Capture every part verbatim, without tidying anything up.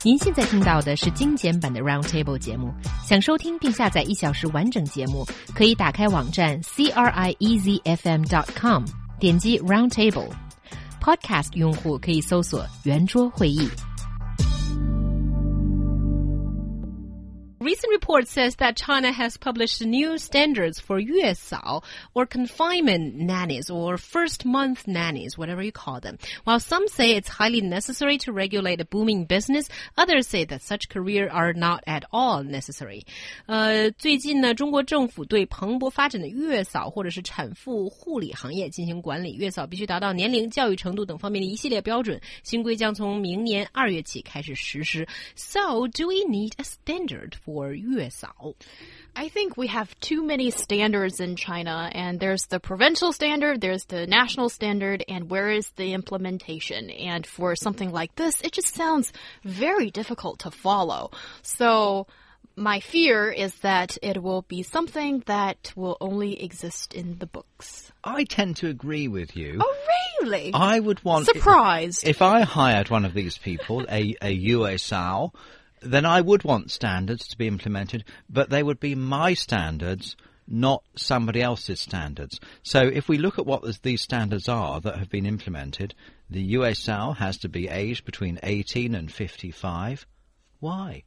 您现在听到的是精简版的 Roundtable 节目。想收听并下载一小时完整节目，可以打开网站 c r i e z f m dot com， 点击 Roundtable。Podcast 用户可以搜索圆桌会议。Recent report says that China has published new standards for 月嫂 or confinement nannies or first-month nannies, whatever you call them. While some say it's highly necessary to regulate a booming business, others say that such careers are not at all necessary. 呃，最近呢，中国政府对蓬勃发展的月嫂或者是产妇护理行业进行管理，月嫂必须达到年龄、教育程度等方面的一系列标准。新规将从明年二月起开始实施。So, do we need a standard for or 月嫂? I think we have too many standards in China, and there's the provincial standard, there's the national standard, and where is the implementation? And for something like this, it just sounds very difficult to follow. So my fear is that it will be something that will only exist in the books. I tend to agree with you. Oh, really? I would want... Surprised. If, if I hired one of these people, a, a 月嫂, then I would want standards to be implemented, but they would be my standards, not somebody else's standards. So if we look at what these standards are that have been implemented, the 月嫂 has to be aged between eighteen and fifty-five. Why?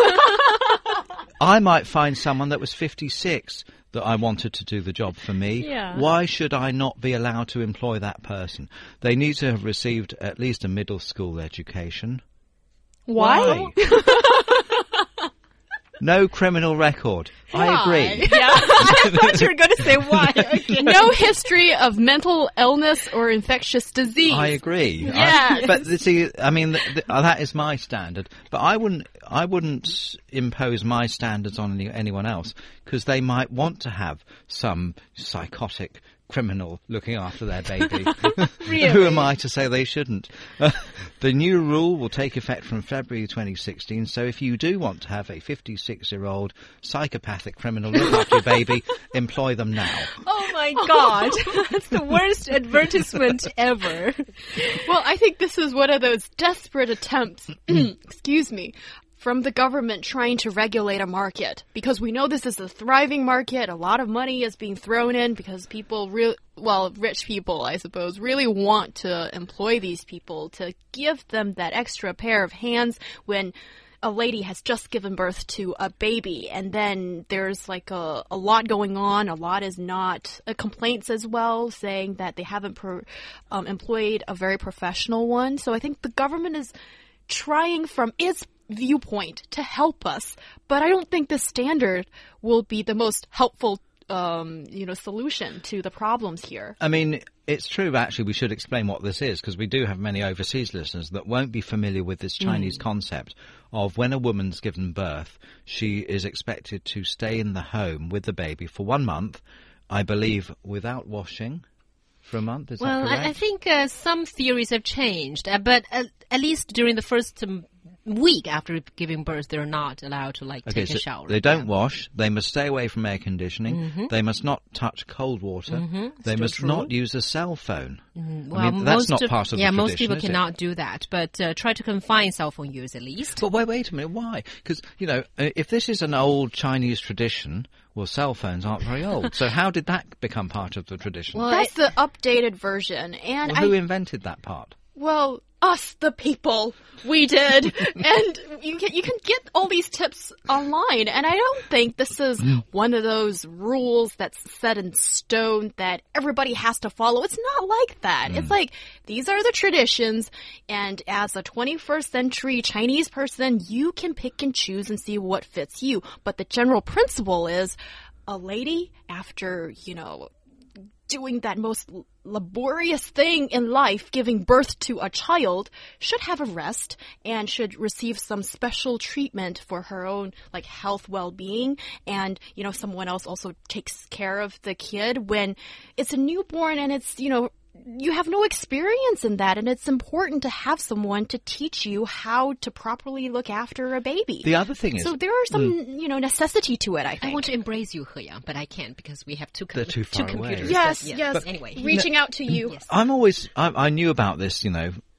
I might find someone that was fifty-six that I wanted to do the job for me. Yeah. Why should I not be allowed to employ that person? They need to have received at least a middle school education. Why? Why? No criminal record. Why? I agree. Yeah, I thought you were going to say why. Okay. No history of mental illness or infectious disease. I agree. Yeah. I, but see, I mean, th th that is my standard. But I wouldn't, I wouldn't impose my standards on any, anyone else because they might want to have some psychotic criminal looking after their baby. Really? Who am I to say they shouldn't? Uh, the new rule will take effect from February twenty sixteen, so if you do want to have a fifty-six-year-old psychopathic criminal look after your baby, employ them now. Oh my God. That's the worst advertisement ever. Well, I think this is one of those desperate attempts, excuse me, from the government trying to regulate a market, because we know this is a thriving market. A lot of money is being thrown in because people real well, rich people, I suppose, really want to employ these people to give them that extra pair of hands when a lady has just given birth to a baby, and then there's like a, a lot going on. A lot is not uh, complaints as well, saying that they haven't pro, um, employed a very professional one. So I think the government is trying from its viewpoint to help us, but I don't think the standard will be the most helpful um, you know, solution to the problems here. I mean, it's true, actually, we should explain what this is, because we do have many overseas listeners that won't be familiar with this Chinese mm. concept of when a woman's given birth, she is expected to stay in the home with the baby for one month, I believe, without washing. For a month, is well, that correct? I, I think uh, some theories have changed, uh, but uh, at least during the first um, week after giving birth, they're not allowed to like okay, take so a shower. They don't yeah. wash. They must stay away from air conditioning. Mm-hmm. They must not touch cold water. Mm-hmm. They Still must true. not use a cell phone. Mm-hmm. Well, I mean, that's not of, part of yeah, the tradition, most people is cannot it? do that, but uh, try to confine cell phone use at least. But wait, wait a minute, why? Because, you know, if this is an old Chinese tradition, well, cell phones aren't very old. So how did that become part of the tradition? Well, that's the updated version. And well, who I, invented that part? Well, us, the people. We did. And you can, you can get all these tips online. And I don't think this is one of those rules that's set in stone that everybody has to follow. It's not like that. Mm. It's like, these are the traditions. And as a twenty-first century Chinese person, you can pick and choose and see what fits you. But the general principle is a lady, after, you know, doing that most laborious thing in life, giving birth to a child, should have a rest and should receive some special treatment for her own like health well-being. And, you know, someone else also takes care of the kid when it's a newborn and it's, you know, you have no experience in that, and it's important to have someone to teach you how to properly look after a baby. The other thing is... So there are some, mm, you know, necessity to it, I think. I want to embrace you, He Yang, but I can't because we have two, com They're too far two computers. away. Yes, but, yeah. yes. But anyway. Reaching out to you. Yes. I'm always... I, I knew about this, you know,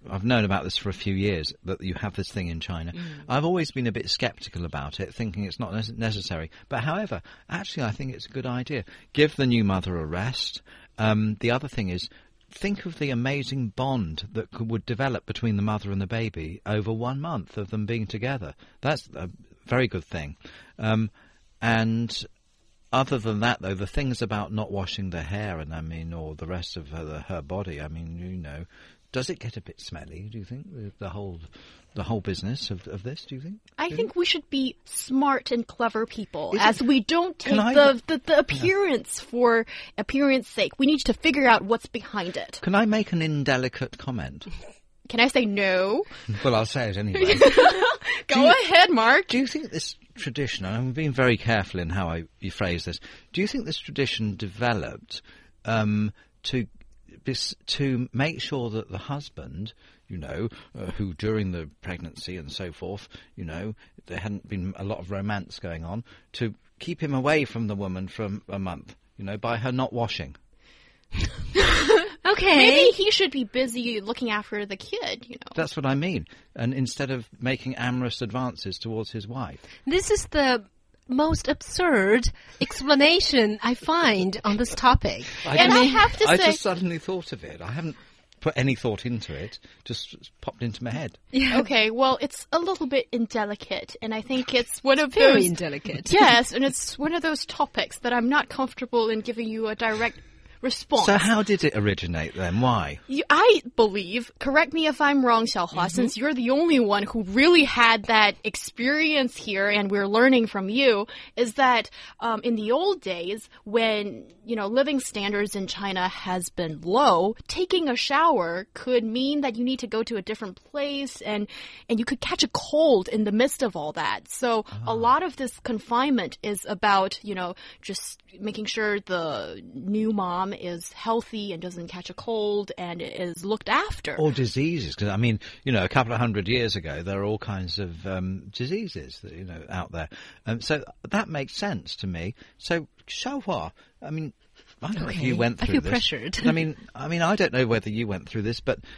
I've known about this for a few years, that you have this thing in China. Mm. I've always been a bit sceptical about it, thinking it's not necessary. But however, actually I think it's a good idea. Give the new mother a rest. Um, the other thing is, think of the amazing bond that could, would develop between the mother and the baby over one month of them being together. That's a very good thing. Um, and other than that, though, the things about not washing the hair, and I mean, or the rest of her, her body, I mean, you know, does it get a bit smelly, do you think, the whole the whole business of, of this, do you think? I do think we should be smart and clever people, Is as it, we don't take I, the, the, the appearance yeah. for appearance sake. We need to figure out what's behind it. Can I make an indelicate comment? Can I say no? Well, I'll say it anyway. Go you, ahead, Mark. Do you think this tradition, and I'm being very careful in how I you phrase this, do you think this tradition developed um, to to make sure that the husband, you know, uh, who during the pregnancy and so forth, you know, there hadn't been a lot of romance going on, to keep him away from the woman for a month, you know, by her not washing? Okay. Maybe he should be busy looking after the kid, you know. That's what I mean. And instead of making amorous advances towards his wife. This is the most absurd explanation I find on this topic. I and just, I have to I say... just suddenly thought of it. I haven't put any thought into it. Just popped into my head. Yeah. Okay, well, it's a little bit indelicate, and I think it's one of Very those... indelicate. Yes, and it's one of those topics that I'm not comfortable in giving you a direct response. So how did it originate then? Why? You, I believe, correct me if I'm wrong, Xiaohua, mm-hmm. since you're the only one who really had that experience here and we're learning from you, is that um, in the old days when, you know, living standards in China has been low, taking a shower could mean that you need to go to a different place and, and you could catch a cold in the midst of all that. So oh. a lot of this confinement is about, you know, just making sure the new mom is healthy and doesn't catch a cold and is looked after. Or diseases, because I mean, you know, a couple of hundred years ago, there are all kinds of um, diseases that, you know, out there. Um, so that makes sense to me. So, Xiaohua, I mean, I don't okay. know if you went through I feel this. pressured. I mean, I mean, I don't know whether you went through this, but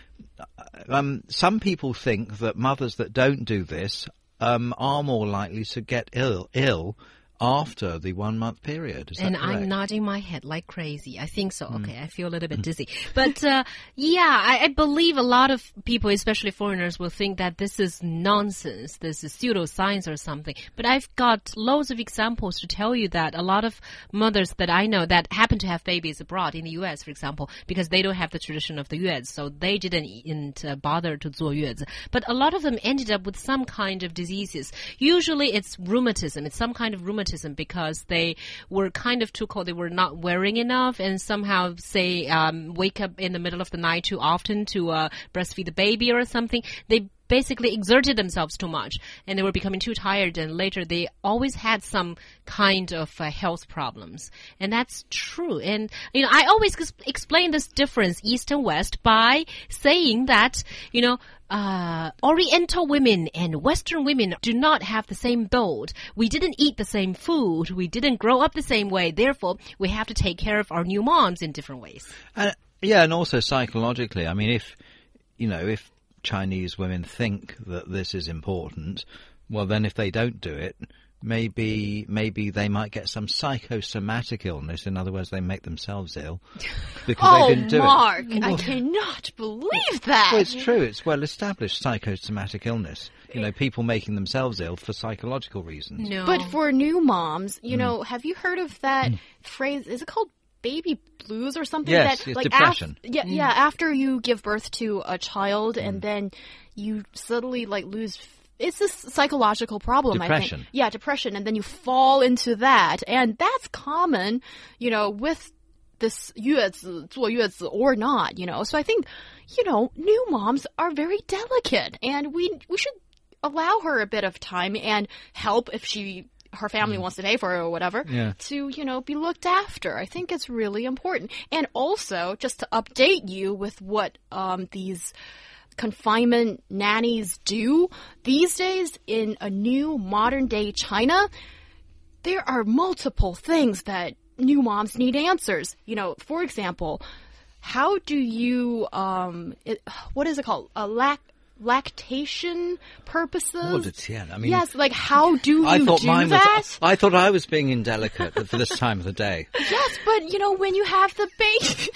um, some people think that mothers that don't do this um, are more likely to get ill, ill. after the one-month period. Is that and correct? I'm nodding my head like crazy. I think so. Okay, mm. I feel a little bit dizzy. But, uh, yeah, I, I believe a lot of people, especially foreigners, will think that this is nonsense. This is pseudoscience or something. But I've got loads of examples to tell you that a lot of mothers that I know that happen to have babies abroad, in the U S, for example, because they don't have the tradition of the yuezi, so they didn't uh, bother to 坐月子. But a lot of them ended up with some kind of diseases. Usually it's rheumatism. It's some kind of rheumatism. Because they were kind of too cold, they were not wearing enough, and somehow, say, um, wake up in the middle of the night too often to uh, breastfeed the baby or something. They basically exerted themselves too much, and they were becoming too tired, and later they always had some kind of uh, health problems. And that's true. And, you know, I always explain this difference, East and West, by saying that, you know, Uh, Oriental women and Western women do not have the same build. We didn't eat the same food. We didn't grow up the same way. Therefore, we have to take care of our new moms in different ways. Uh, yeah, and also psychologically. I mean, if, you know, if Chinese women think that this is important, well, then if they don't do it, maybe maybe they might get some psychosomatic illness. In other words, they make themselves ill because oh, they didn't do Mark, it. I cannot believe that. Well, it's true. It's well established psychosomatic illness. You know, people making themselves ill for psychological reasons. No. But for new moms, you mm. know, have you heard of that mm. phrase? Is it called baby blues or something? Yes, that, it's like depression. Af yeah, mm. yeah. After you give birth to a child mm. and then you suddenly like lose. It's this psychological problem, depression. I think. Yeah, depression. And then you fall into that. And that's common, you know, with this 月子, 坐月子 or not, you know. So I think, you know, new moms are very delicate. And we we should allow her a bit of time and help if she her family mm. wants to pay for it or whatever, yeah. to, you know, be looked after. I think it's really important. And also, just to update you with what um, these confinement nannies do these days in a new modern day China, there are multiple things that new moms need answers. You know, for example, how do you, um, it, what is it called? A lac lactation purposes? What a ten. I mean, yes, like how do you I thought do mine that? Was, I thought I was being indelicate for this time of the day. Yes, but you know, when you have the baby,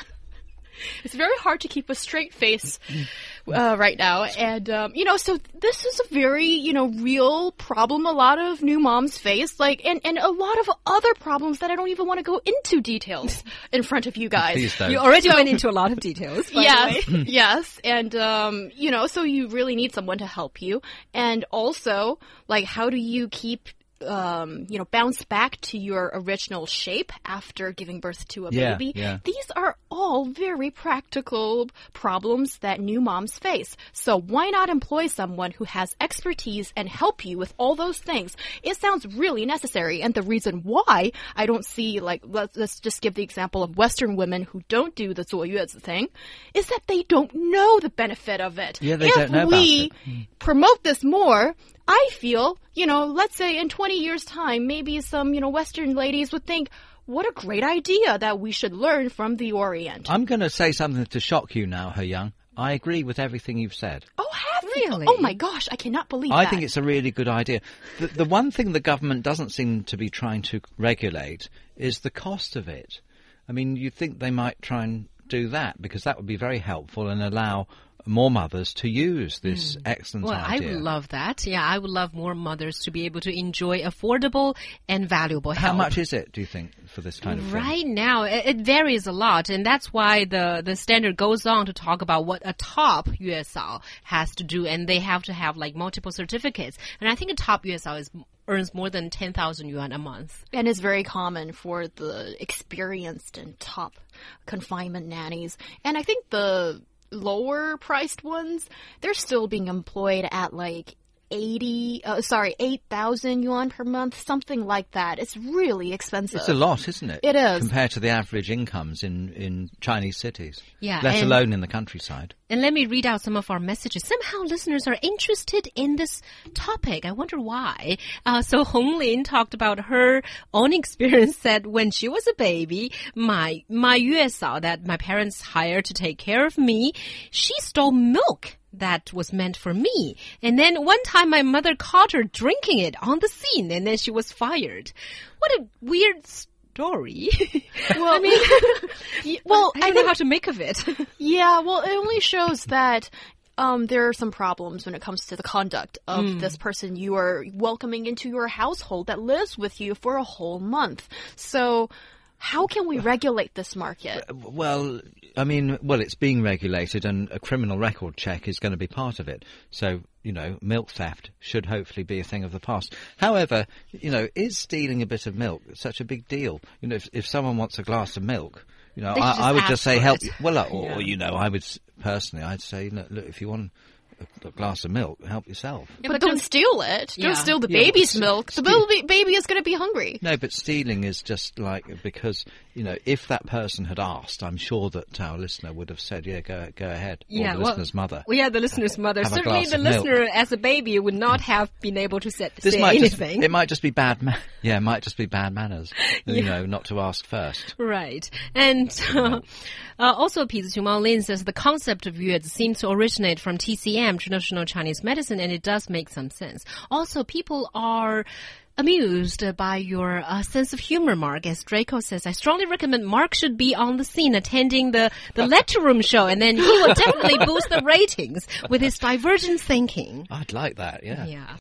it's very hard to keep a straight face uh, right now. And, um, you know, so this is a very, you know, real problem a lot of new moms face, like, and, and a lot of other problems that I don't even want to go into details in front of you guys. Please don't. You already went into a lot of details. By Yes, the way. yes. And, um, you know, so you really need someone to help you. And also, like, how do you keep Um, you know, bounce back to your original shape after giving birth to a Yeah, baby. yeah. These are all very practical problems that new moms face. So why not employ someone who has expertise and help you with all those things? It sounds really necessary. And the reason why I don't see, like, let's, let's just give the example of Western women who don't do the 坐月子 thing, is that they don't know the benefit of it. Yeah, they if don't know about we it. promote this more, I feel, you know, let's say in twenty years' time, maybe some, you know, Western ladies would think, what a great idea that we should learn from the Orient. I'm going to say something to shock you now, He Young. I agree with everything you've said. Oh, have Really? you? Oh my gosh, I cannot believe I that. think it's a really good idea. The, the one thing the government doesn't seem to be trying to regulate is the cost of it. I mean, you'd think they might try and do that because that would be very helpful and allow more mothers to use this mm. excellent well, idea. I would love that. Yeah, I would love more mothers to be able to enjoy affordable and valuable help. How much is it, do you think, for this kind of thing? Right now, it, it varies a lot, and that's why the, the standard goes on to talk about what a top U S A O has to do, and they have to have like multiple certificates. And I think a top U S A O is earns more than ten thousand yuan a month. And it's very common for the experienced and top confinement nannies. And I think the lower priced ones, they're still being employed at like eighty, uh, sorry, eight thousand yuan per month, something like that. It's really expensive. It's a lot, isn't it? It is. Compared to the average incomes in, in Chinese cities. Yeah. Let and, alone in the countryside. And let me read out some of our messages. Somehow listeners are interested in this topic. I wonder why. Uh, so Hong Lin talked about her own experience that when she was a baby, my, my U S A O that my parents hired to take care of me, she stole milk that was meant for me. And then one time my mother caught her drinking it on the scene, and then she was fired. What a weird story. Well, I mean, well, I don't I know think, how to make of it. yeah, well, it only shows that um, there are some problems when it comes to the conduct of mm. this person you are welcoming into your household that lives with you for a whole month. So how can we regulate this market? Well, I mean, well, it's being regulated, and a criminal record check is going to be part of it. So, you know, milk theft should hopefully be a thing of the past. However, you know, is stealing a bit of milk such a big deal? You know, if, if someone wants a glass of milk, you know, I, I would just say help. It. Well, or, yeah. you know, I would personally, I'd say, look, look if you want a, a glass of milk, help yourself. Yeah, but, but don't steal it. Yeah. Don't steal the Yeah, baby's but milk. The steal- baby, baby is going to be hungry. No, but stealing is just like, because, you know, if that person had asked, I'm sure that our listener would have said, yeah, go go ahead. Or Yeah, the well, listener's mother. Well, yeah, the listener's mother. Have a Certainly glass the of milk. listener as a baby would not have been able to set, This say might just, anything. it might just be bad, ma- yeah, it might just be bad manners, you Yeah. know, not to ask first. Right. And uh, uh, also, Pi Zhumao Lin says the concept of yuezi seems to originate from T C M, traditional Chinese medicine, and it does make some sense. Also, people are amused by your uh, sense of humor, Mark. As Draco says, I strongly recommend Mark should be on the scene attending the, the lecture room show, and then he will definitely boost the ratings with his divergent thinking. I'd like that, yeah. Yeah.